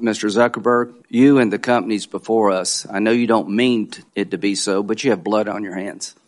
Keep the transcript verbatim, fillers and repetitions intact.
Mister Zuckerberg, you and the companies before us, I know you don't mean it to be so, but you have blood on your hands.